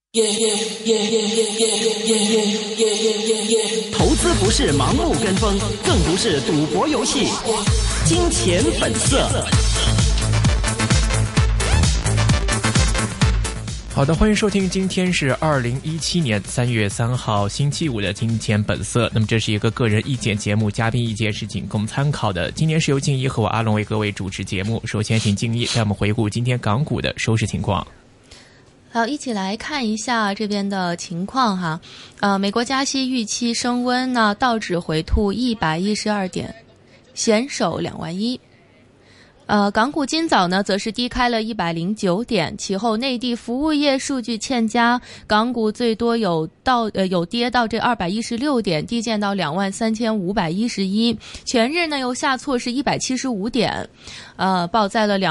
投资不是盲目跟风，更不是赌博游戏。金钱本色。 好的，欢迎收听，今天是2017年3月3号星期五的金钱本色。那么这是一个个人意见节目，嘉宾意见是仅供参考的。今年是由静怡和我阿龙为各位主持节目。首先请静怡带我们回顾今天港股的收市情况。 好，一起来看一下这边的情况哈。美国加息预期升温呢，道指回吐112点，险守2万1。港股今早呢则是低开了109点，其后内地服务业数据欠佳，港股最多有跌到这216点，低见到23511，全日呢又下挫是175点，报在了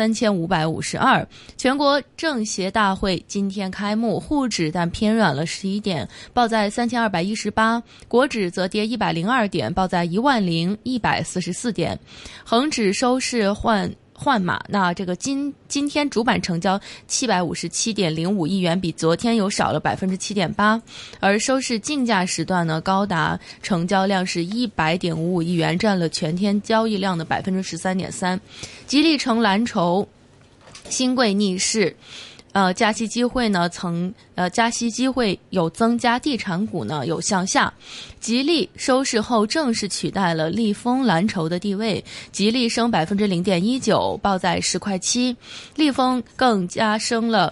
23552。全国政协大会今天开幕，沪指但偏软了11点，报在3218，国指则跌102点，报在10144点，恒指收市换马，那这个今天主板成交757.05亿元，比昨天有少了7.8%，而收市竞价时段呢高达成交量是100.55亿元，占了全天交易量的13.3%。吉利成蓝筹，新贵逆势。加息机会呢加息机会有增加，地产股呢有向下。吉利收市后正式取代了利丰蓝筹的地位，吉利升0.19%，报在10块7，利丰更加升了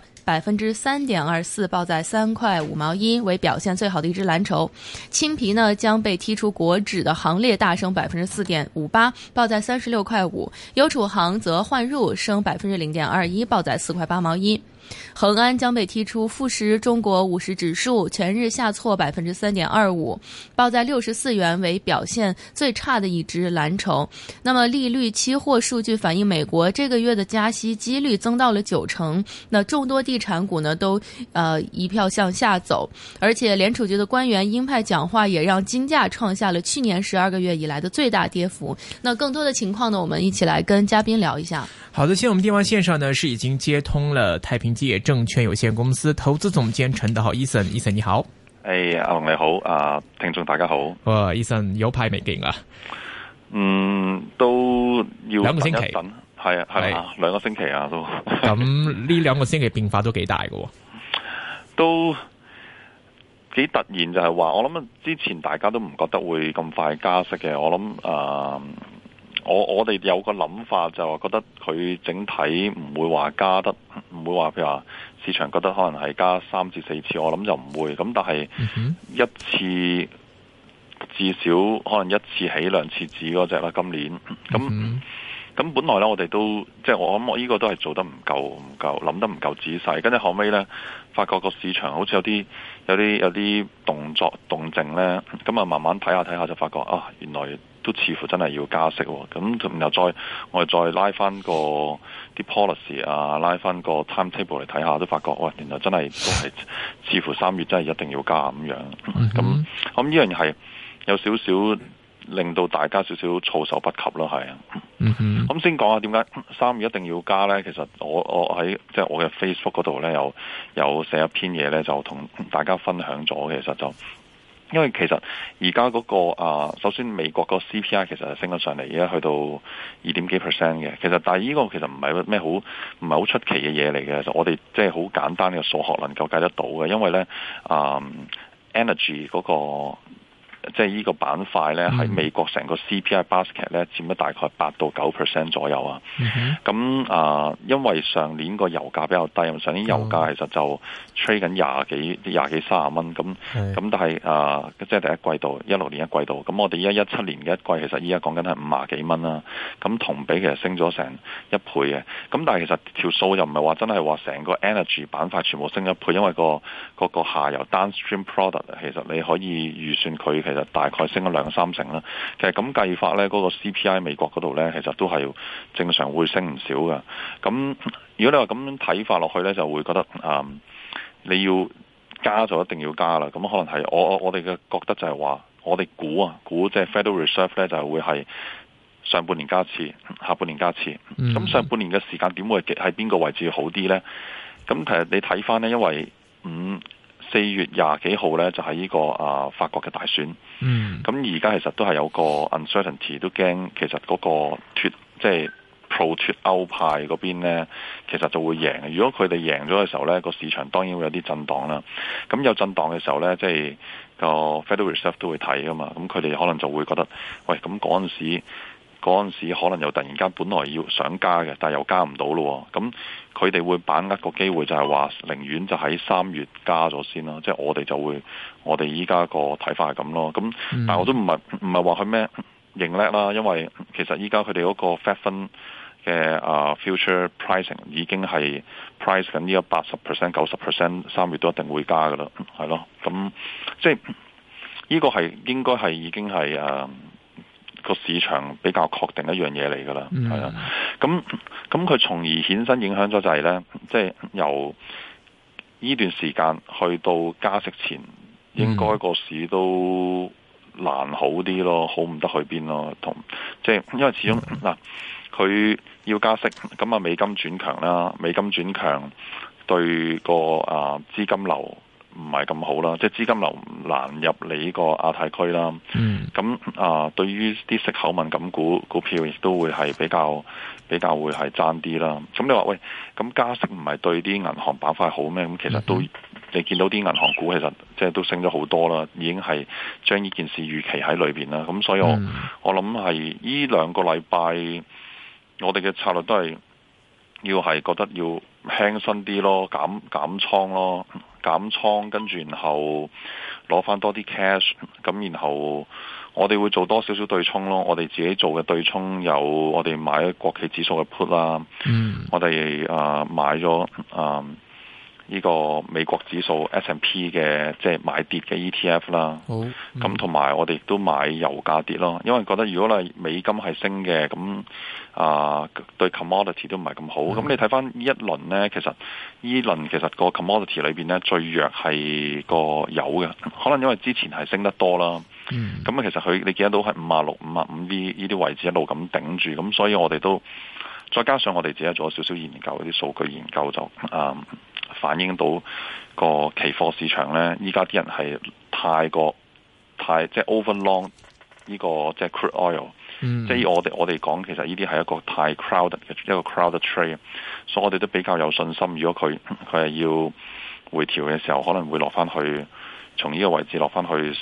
3.24%，报在3块5毛1，为表现最好的一只蓝筹。青皮呢将被踢出国指的行列，大升4.58%，报在36块5。优储行则换入，升0.21%，报在4块8毛1。恒安将被踢出富时中国50指数，全日下挫3.25%，报在64元，为表现最差的一只蓝筹。那么利率期货数据反映美国这个月的加息几率增到了90%，那众多地产股呢都一票向下走，而且联储局的官员鹰派讲话也让金价创下了去年12个月以来的最大跌幅。那更多的情况呢，我们一起来跟嘉宾聊一下。 好的，现在我们电话线上呢是已经接通了太平基业证券有限公司投资总监陳德豪 Ethan 你好。 阿龍你好，聽眾大家好。 Ethan 有排未見啊？ 都要 2個星期， 係啊，2個星期啊都。 咁呢2個星期變化都幾大嘅， 都幾突然，就係話我諗之前大家都唔覺得會咁快加息嘅，我諗我哋有個諗法就係覺得佢整體唔會話加得，唔會話譬如話市場覺得可能係加3至4次，我諗就唔會。咁但係一次至少可能1次起2次止嗰隻啦，今年咁本來咧我哋都即係我諗我呢個都係做得唔夠諗得唔夠仔細，跟住後尾咧發覺個市場好似有啲動靜咧，咁啊慢慢睇下就發覺原來都似乎真係要加息喎，咁然後我哋再拉翻個啲 policy 拉翻個 timetable 嚟睇下，都發覺原來真係都係似乎3月真係一定要加咁樣。咁呢樣嘢係有少少令到大家少少措手不及咯，係啊。咁先講下點解3月一定要加呢？其實我喺即係我嘅 Facebook 嗰度呢，有寫一篇嘢呢，就同大家分享咗。其實就因為其實而家嗰個首先美國個 CPI 其實係升咗上嚟，而家去到2點幾%嘅。其實但係呢個其實唔係咩唔係好出奇嘅嘢嚟嘅。就我哋即係好簡單嘅數學能夠計得到嘅，因為呢energy 嗰個。即係呢個板塊咧，喺美國成個 CPI basket 咧佔咗大概8到9% 左右啊。咁因為上年個油價比較低，上年油價其實就 trade 緊廿幾30蚊。咁但係即係第一季度16年一季度，咁我哋而家17年嘅一季，其實依家講緊係50幾蚊啦。咁同比其實升咗成1倍嘅。咁但係其實條數又唔係話真係話成個 energy 板塊全部升1倍，因為個下游 downstream product 其實你可以預算佢其實大概升咗2-3成啦。其實咁計法咧，嗰個 CPI 美國嗰度咧，其實都係正常會升唔少㗎。咁如果你話咁樣睇法落去咧，就會覺得你要加就一定要加啦。咁可能係我哋嘅覺得就係話，我哋估即係 Federal Reserve 咧，就係會係上半年加一次，下半年加一次。咁上半年嘅時間點會喺邊個位置好啲咧？咁其實你睇翻咧，因為 4月20幾號呢，就係呢個法國嘅大選。咁而家其實都係有個 uncertainty， 都驚其實嗰個即係 pro 脫歐派嗰邊呢，其實就會贏。如果佢哋贏咗嘅時候呢，個市場當然會有啲震盪啦。咁有震盪嘅時候呢，即係個 Federal Reserve 都會睇噶嘛。咁佢哋可能就會覺得，喂，咁嗰陣時可能又突然間本來要想加嘅，但係又加唔到咯。咁佢哋會把握個機會，就係話寧願就喺3月加咗先啦。即係我哋依家個睇法係咁咯。咁但係我都唔係話佢咩認叻啦，因為其實依家佢哋嗰個 Fed Fund 嘅future pricing 已經係 price 緊呢個80%、90% 3月都一定會加噶啦，係咯。咁即係呢個係應該係已經係個市場比較確定一樣嘢嚟噶啦，係啊。咁佢從而衍生影響咗就係呢，即係由呢段時間去到加息前，應該個市都難好啲咯，好唔得去邊咯。即係因為始終嗱，佢要加息，咁美金轉強啦，美金轉強對個資金流唔係咁好啦，即係資金流難入嚟呢個亞太區啦。咁對於啲息口敏感股票亦都會係比較會係爭啲啦。咁你話喂，咁加息唔係對啲銀行板塊好咩？咁其實都你見到啲銀行股其實即係都升咗好多啦，已經係將呢件事預期喺裏邊啦。咁所以我諗係呢2個禮拜，我哋嘅策略都係要係覺得要輕身啲咯，減倉咯。減倉，跟住然後攞翻多啲 cash， 咁然後我哋會做多少少對沖咯。我哋自己做嘅對沖有我哋買國企指數嘅 put 啦，我哋買咗呢個美國指數 S&P 嘅即係買跌嘅 ETF 啦。咁同埋我哋亦都買油價跌咯，因為覺得如果你美金係升嘅，咁對 commodity 都唔係咁好。咁你睇翻呢一輪呢，其實個 commodity 裏邊呢，最弱係個油嘅，可能因為之前係升得多啦。咁其實你見得到係56、55呢啲位置一路咁頂住，咁所以我哋都再加上我哋自己做咗少少研究，啲數據研究就反映到個期貨市場呢，依家啲人係太即係 overlong 呢個即係 crude oil，即係我哋講其實呢啲係一個太 crowded 嘅一個 crowded trade， 所以我哋都比較有信心，如果佢係要回調嘅時候，可能會落翻去從呢個位置落翻去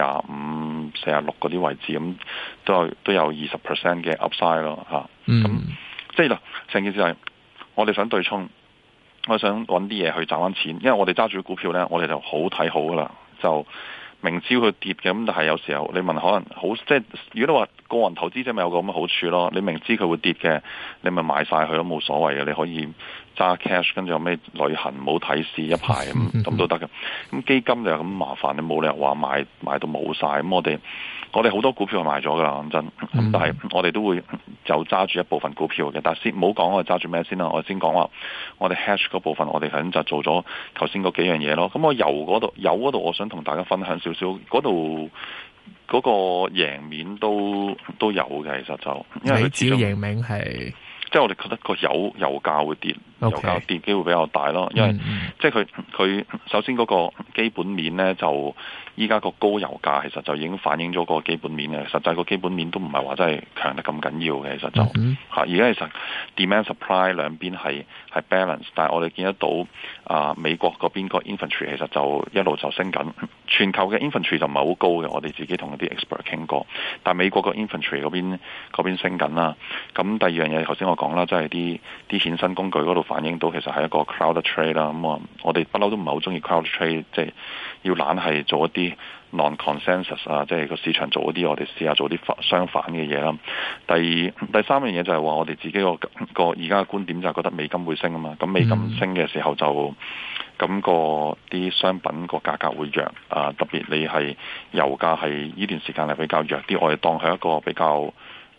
45、46嗰啲位置，咁都有20% 嘅 upside 咯嚇。咁即係成件事係我哋想對沖。我想揾啲嘢去賺翻錢，因為我哋揸住股票呢，我哋就好睇好噶啦，就明知佢跌嘅，咁但係有時候你問可能好，即係如果你話個人投資者咪有個咁嘅好處咯，你明知佢會跌嘅，你咪買晒佢都冇所謂嘅，你可以揸 cash 跟住有咩旅行冇睇市一排咁都得嘅。咁基金就咁麻煩，你冇理由話買到冇晒。咁我哋好多股票係賣咗噶啦，講真。咁但係我哋都會就揸住一部分股票嘅，但係先唔好講我哋揸住咩先啦。我先講話我哋 hedge 嗰部分，我哋係就做咗頭先嗰幾樣嘢咯。咁我油嗰度，我想同大家分享少少，嗰度嗰個贏面都有嘅，其實就因為佢主要贏面係。即係我哋覺得個油價會跌，油價跌機會比較大咯，因為即係佢首先嗰個基本面咧，就依家個高油價其實就已經反映咗個基本面嘅，實際個基本面都唔係話真係強得咁緊要嘅，其實就而家其實 demand supply 兩邊係 balance， 但係我哋見得到美國嗰邊個 inventory 其實就一路就升緊，全球嘅 inventory 就唔係好高嘅，我哋自己同啲 expert 傾過，但係美國個 inventory 嗰邊升緊啦。咁第二樣嘢頭先我講啦，即係啲衍生工具嗰度反映到其實係一個 crowd trade 啦。咁我哋不嬲都唔係好中意 crowd trade， 即係要懶係做一啲 non-consensus 啊，即係個市場做一啲，我哋試下做啲相反嘅嘢啦。第三樣嘢就係話我哋自己個而家嘅觀點就係覺得美金會升啊嘛。咁美金升嘅時候就咁個啲商品個價格會弱特別你係油價係呢段時間係比較弱啲，我哋當係一個比較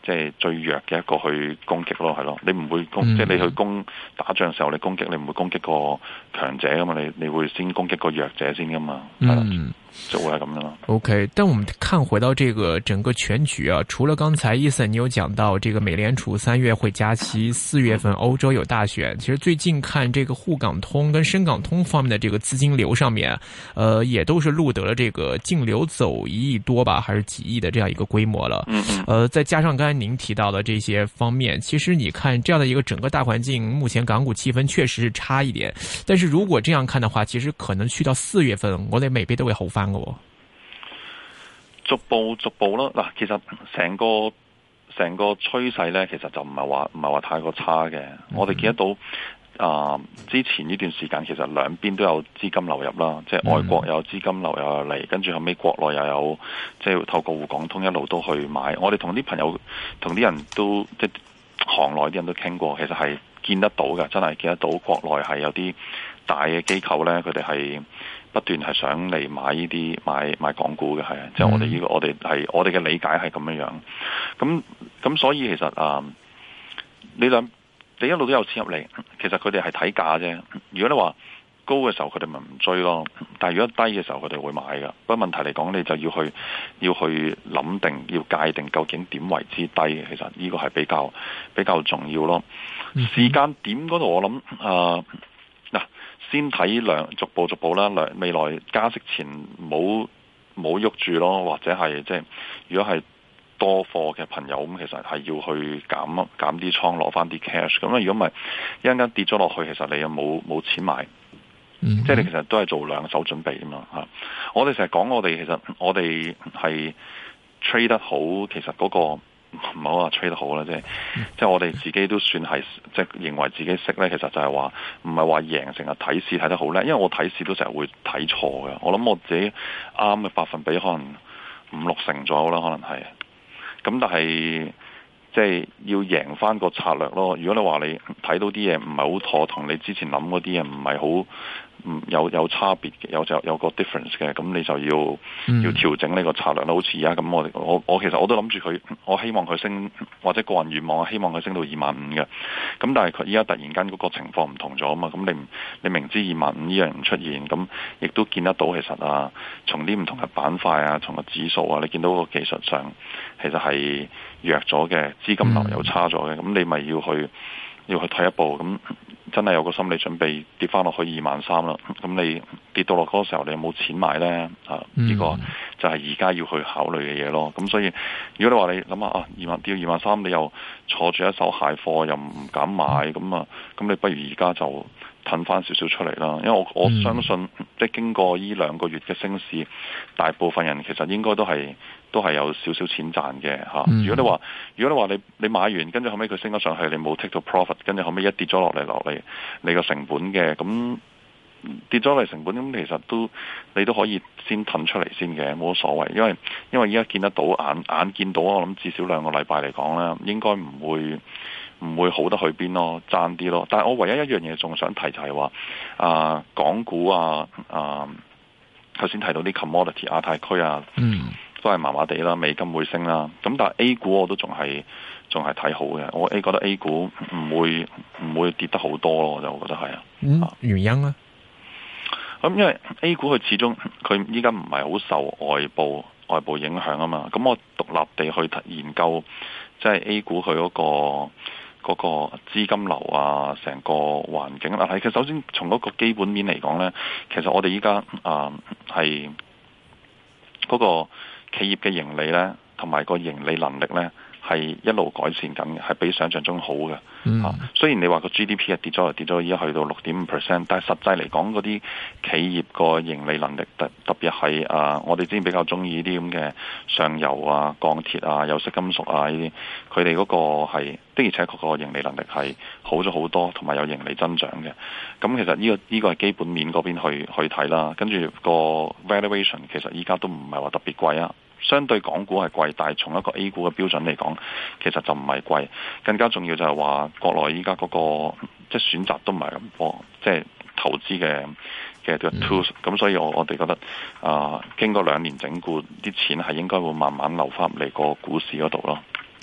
即係最弱嘅一個去攻擊咯，係咯，你唔會即係你去打仗嘅時候，你攻擊你唔會攻擊個強者噶嘛，你會先攻擊個弱者先噶嘛，就會係咁樣咯。 OK， 但我們看回到這個整個全局啊，除了剛才Ethan你有講到這個美聯儲3月會加息，4月份歐洲有大選，其實最近看這個滬港通跟深港通方面的這個資金流上面，也都是錄得了這個淨流走1億多吧，還是幾億的這樣一個規模了。再加上剛才您提到的這些方面，其實你看這樣的一個整個大環境，目前港股氣氛確實是差一點，但是如果這樣看的話，其實可能去到4月份，我哋未必都會好返。 逐步咯，嗱，其實成個趨勢咧，其實就唔係話太過差嘅。我哋見得到之前呢段時間其實兩邊都有資金流入啦，即係外國有資金流入嚟，跟住後尾國內又有即係透過滬港通一路都去買。我哋同啲朋友同啲人都即係行內啲人都傾過，其實係見得到嘅，真係見得到國內係有啲大嘅機構咧，佢哋係不斷係想嚟買呢啲買港股嘅，係即係我哋呢個我哋嘅理解係咁樣樣。咁所以其實你一路都有錢入嚟，其實佢哋係睇價啫。如果你話高嘅時候，佢哋咪唔追咯。但係如果低嘅時候，佢哋會買㗎。不過問題嚟講，你就要去諗定，要界定究竟點為之低。其實呢個係比較重要咯。時間點嗰度我諗先睇逐步啦，未來加息前冇喐住咯，或者係即係如果係多貨嘅朋友咁，其實係要去減啲倉攞翻啲 cash。咁如果唔係一陣間跌咗落去，其實你又冇錢買，即係你其實都係做兩手準備啊嘛嚇。我哋成日講我哋係 trade 得好，其實嗰個唔好話 trade 得好啦，即係我哋自己都算係即係認為自己識咧，其實就係話唔係話贏，成日睇市睇得好叻，因為我睇市都成日會睇錯嘅。我諗我自己啱嘅百分比可能5-6成左右啦，可能係。咁但係即係要贏翻個策略咯。如果你話你睇到啲嘢唔係好妥，同你之前諗嗰啲嘢唔係好有差別嘅，有個 difference 嘅，咁你就要調整呢個策略啦。好似而家咁，我其實我都諗住佢，我希望佢升，或者個人願望，希望佢升到25,000嘅。咁但係佢而家突然間嗰個情況唔同咗啊嘛。咁你明知25,000呢樣唔出現，咁亦都見得到其實從啲唔同嘅板塊啊，從個指數啊，你見到個技術上其實係弱咗嘅，資金流又差咗嘅，咁你咪要去退一步，咁真係有個心理準備跌翻落去23,000啦。咁你跌到落嗰個時候，你有冇錢買呢？呢個就係而家要去考慮嘅嘢咯。咁所以如果你話你諗下跌到23,000，你又坐住一手蟹貨，又唔敢買，咁你不如而家就褪翻少少出嚟啦。因為我相信即係經過呢2個月嘅升市，大部分人其實應該都係有少少錢賺嘅嚇。如果你話你買完，跟住後尾佢升咗上去，你冇 take 到 profit，跟住後尾一跌咗落嚟，你個成本嘅，咁跌咗嚟成本，咁其實你都可以先褪出嚟先嘅，冇乜所謂。因為依家見得到眼見到，我諗至少2個禮拜嚟講咧，應該唔會好得去邊咯，爭啲咯。但係我唯一一樣嘢仲想提就係話港股頭先提到啲 commodity 亞太區都係麻麻地啦，美金會升啦。咁但係 A 股我都仲係睇好嘅。我覺得 A 股唔會跌得好多咯，我就覺得係原因咧？ 咁因為 A 股佢始終佢依家唔係好受外部影響啊嘛。咁我獨立地去研究，即係 A 股佢嗰個資金流啊，成個環境啦。其實首先從嗰個基本面嚟講咧，其實我哋依家係嗰個企業嘅盈利咧，同埋個盈利能力咧，係一路改善緊嘅，係比想象中好嘅。雖然你話個 GDP 係跌咗，依家去到6.5%，但係實際嚟講，嗰啲企業個盈利能力特別係我哋之前比較中意啲咁嘅上游啊、鋼鐵啊、有色金屬啊呢啲，佢哋嗰個係的而且確個盈利能力係好咗好多，同埋有盈利增長嘅。咁其實呢個係基本面嗰邊去睇啦，跟住個 valuation 其實依家都唔係話特別貴啊。相對港股係貴，但係從一個 A 股嘅標準嚟講，其實就唔係貴。更加重要就係話國內依家嗰個即係選擇都唔係咁多，即係投資嘅 tools。咁所以我哋覺得經過2年整固，啲錢係應該會慢慢流翻嚟個股市嗰度咯。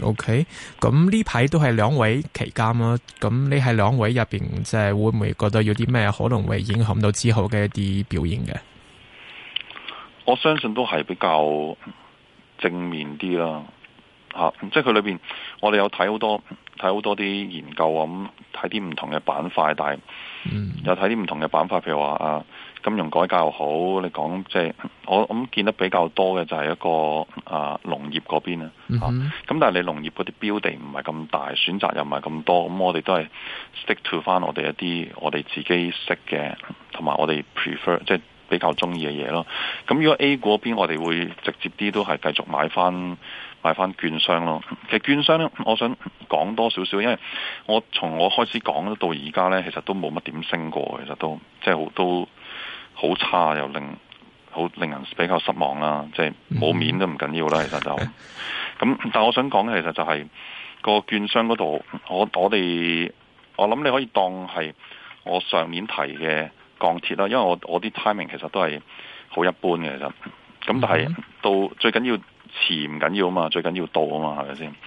OK， 咁呢排都係兩位期間啦，咁你喺兩位入邊，即係會唔會覺得有啲咩可能會影響到之後嘅一啲表現嘅？ 我相信都係比較正面啲啦，即係佢裏邊我哋有睇好多啲研究啊，咁睇啲唔同嘅板塊，但係有睇啲唔同嘅板塊，譬如話金融改革又好，你講即係我諗見得比較多嘅就係一個農業嗰邊啊，咁但係你農業嗰啲標地唔係咁大，選擇又唔係咁多，咁我哋都係 stick to 翻我哋一啲我哋自己識嘅，同埋我哋 prefer 即係比較中意嘅嘢咯。咁如果 A 股嗰邊我哋會直接啲都係繼續買翻券商咯。其實券商咧，我想講多少少，因為從我開始講到而家咧，其實都冇乜點升過，其實都即係都好差，又令人比較失望啦。即係冇面都唔緊要啦，其實就咁。但係我想講嘅其實就係個券商嗰度，我諗你可以當係我上年提嘅鋼鐵啦，因為我啲 timing 其實都係好一般嘅，其實咁但係到最緊要遲唔緊要啊嘛，最緊要到啊嘛，係咪先？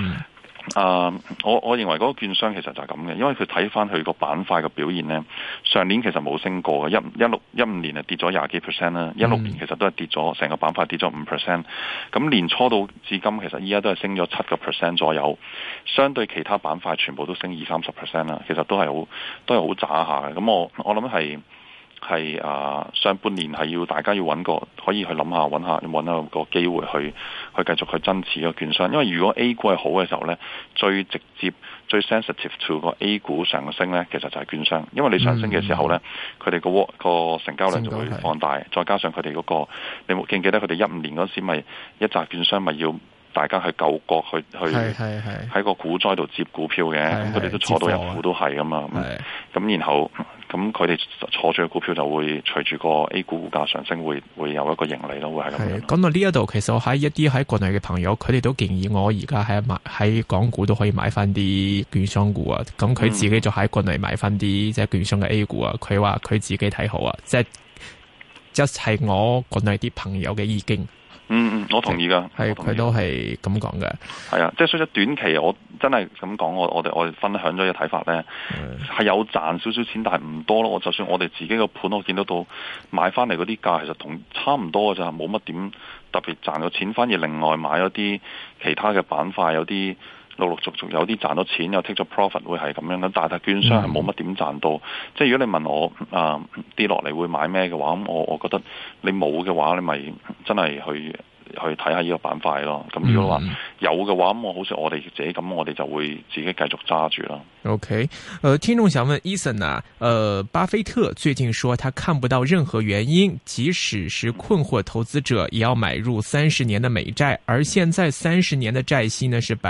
我認為嗰個券商其實就係咁嘅，因為佢睇翻佢個板塊嘅表現咧，上年其實冇升過嘅，15年係跌咗20幾%啦，16年其實都係跌咗，成個板塊跌咗5%，咁年初到至今其實依家都係升咗7%左右，相對其他板塊全部都升20-30%啦，其實都係好渣下嘅，咁我諗係上半年係要大家要可以去諗下揾下個機會去繼續去增持個券商，因為如果 A 股係好嘅時候呢，最直接最 sensitive to 個 A 股上升呢，其實就係券商，因為你上升嘅時候呢，佢哋個成交量就會放大，再加上佢哋嗰個，你記唔記得佢哋15年嗰時咪一紮券商咪要大家去救國去喺個股災度接股票嘅，咁佢哋都坐到一股都係噶嘛，咁然後咁佢哋坐住嘅股票就會隨住個 A 股股價上升會有一個盈利咯，會係咁樣。 講到呢一度，其實我喺一啲喺國內嘅朋友，佢哋都建議我而家喺港股都可以買翻啲券商股啊，咁佢自己就喺國內買翻啲即係券商嘅 A 股啊，佢話佢自己睇好啊，即係我國內啲朋友嘅意見。 我同意噶， 係佢都係咁講嘅。 係啊，即係所以短期我真係咁講，我哋分享咗嘅睇法咧，係有賺少少錢，但係唔多咯。就算我哋自己個盤，我見得到買翻嚟嗰啲價，其實同差唔多嘅咋，冇乜點特別賺到錢，反而另外買咗啲其他嘅板塊，有啲陸續有啲賺到錢，有 take 咗 profit 會係咁樣嘅，但係券商係冇乜點賺到。即係如果你問我跌落嚟會買咩嘅話，咁我覺得你冇嘅話，你咪真係去睇下呢個板塊咯。咁如果話有嘅話，咁我好似我哋自己咁，我哋就會自己繼續揸住啦。 OK， 聽眾想問 Ethan 啊，巴菲特最近說他看不到任何原因，即使是困惑投資者也要買入30年的美債，而現在30年的債息呢是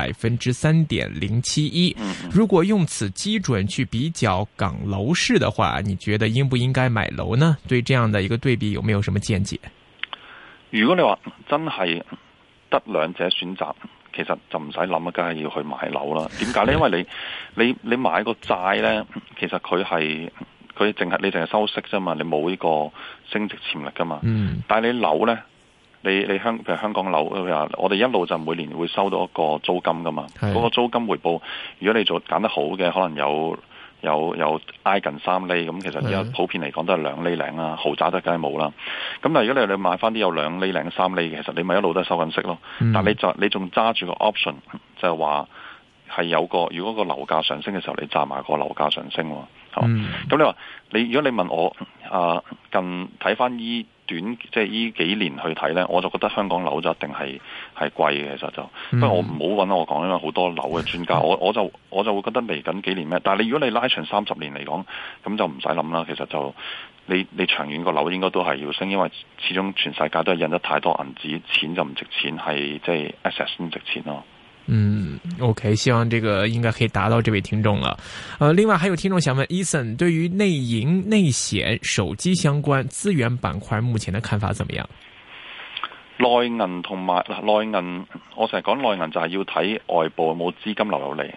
3.071%。如果用此基準去比較港樓市的話，你覺得應不應該買樓呢？對這樣的一個對比有沒有什麼見解？ 如果你話真係得兩者選擇，其實就唔使諗啊，梗係要去買樓啦。點解呢？因為你買個債呢，其實佢淨係收息啫嘛，你冇呢個升值潛力噶嘛。但係你樓呢，譬如香港樓，我哋一路就每年會收到一個租金噶嘛。嗰個租金回報，如果你揀得好嘅，可能有挨近3厘，咁其實而家普遍嚟講都係2厘零啦，豪宅都梗係冇啦。咁但係如果你買翻啲有2厘零、3厘嘅，其實你咪一路都係收緊息咯。但係你仲揸住個 option，就係話係有個如果個樓價上升嘅時候，你揸埋個樓價上升喎。咁你話如果你問我近睇翻即係依幾年去睇咧，我就覺得香港樓就一定係貴嘅，其實就不過我唔好揾我講，因為好多樓嘅專家，我就會覺得嚟緊幾年咩？但係如果你拉長30年嚟講，咁就唔使諗啦。其實就你長遠個樓應該都係要升，因為始終全世界都係印得太多銀紙，錢就唔值錢，係即係 assets 唔值錢咯。 OK， 希望這個應該可以達到這位聽眾了。另外還有聽眾想問 Ethan 對於內銀、內險、手機相關資源板塊目前的看法怎麼樣？ 內銀同埋內銀，我成日講內銀就係要睇外部有冇資金流入嚟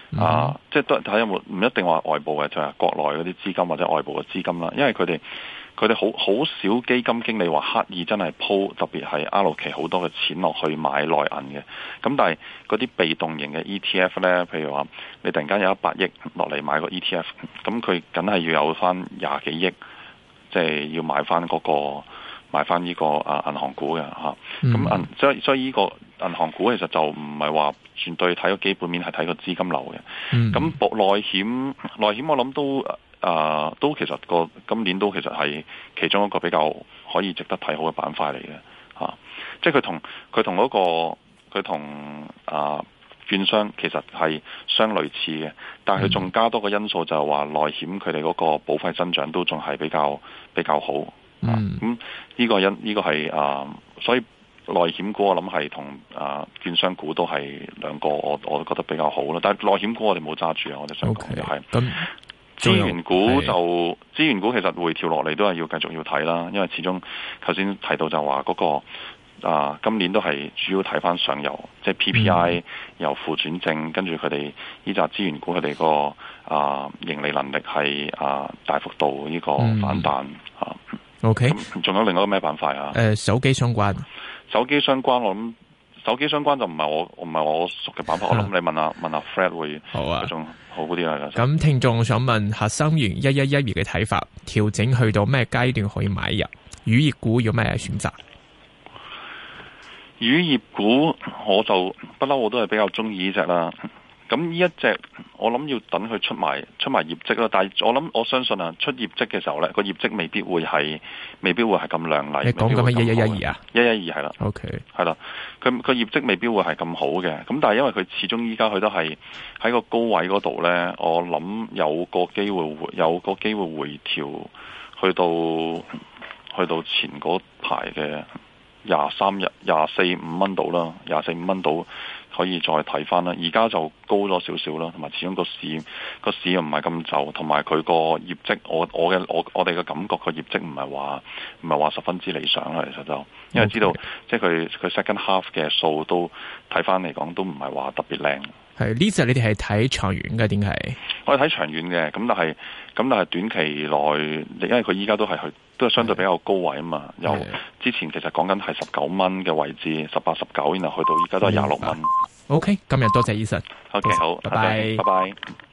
即係都睇有冇，唔一定話外部嘅，就係國內嗰啲資金或者外部嘅資金啦。因為佢哋佢哋好少基金經理話刻意真係鋪，特別係 allocate 好多嘅錢落去買內銀嘅。咁但係嗰啲被動型嘅 ETF 呢，譬如話你突然間有100億落嚟買個 ETF，咁佢梗係要有翻20幾億，即係要買翻嗰個買翻呢個銀行股嘅嚇。咁所以呢個銀行股其實就唔係話絕對睇個基本面，係睇個資金流嘅。咁內險我諗都其實今年都其實係其中一個比較可以值得睇好嘅板塊嚟嘅嚇。即係佢同券商其實係相類似嘅，但係佢仲加多個因素就係話內險佢哋嗰個保費增長都仲係比較好。咁呢個係所以內險股我諗係同券商股都係兩個我都覺得比較好咯。但係內險股我哋冇揸住啊，我哋想講就係資源股資源股其實回調落嚟都係要繼續要睇啦，因為始終頭先提到就話嗰個今年都係主要睇翻上游，即係 PPI 由負轉正，跟住佢哋呢紮資源股佢哋個盈利能力係大幅度呢個反彈嚇。 OK， 仲有另外一個咩板塊啊？ 手機相關我諗手機相關就唔係我熟嘅板塊，我諗你問下 Fred 會好啊，仲好啲啦。 咁聽眾想問下新元1112嘅睇法，調整去到咩階段可以買入？乳業股有咩選擇？ 乳業股我就不嬲，我都係比較中意呢隻啦。咁呢一隻我諗要等佢出埋業績啦，但係我相信出業績嘅時候咧，個業績未必會係咁亮麗。 你講緊係1112啊 ？112係啦。OK， 係啦，佢業績未必會係咁好嘅。咁但係因為佢始終依家佢都係喺個高位嗰度咧，我諗有個機會回調去到前嗰排嘅24-25蚊度啦，24-25蚊度。可以再睇翻啦，而家就高咗少少啦，同埋始終個市又唔係咁就，同埋佢個業績，我哋嘅感覺個業績唔係話十分之理想啦，其實就因為知道即係佢 second half 嘅數都睇翻嚟講都唔係話特別靚。 係呢隻你哋係睇長遠嘅，點係？我哋睇長遠嘅，咁但係短期內，因為佢依家都係相對比較高位啊嘛，由之前其實講緊係19蚊嘅位置，18、19，然後去到依家都係26蚊。 OK， 今日多謝 Ethan。 OK， 好， 拜拜。 拜拜。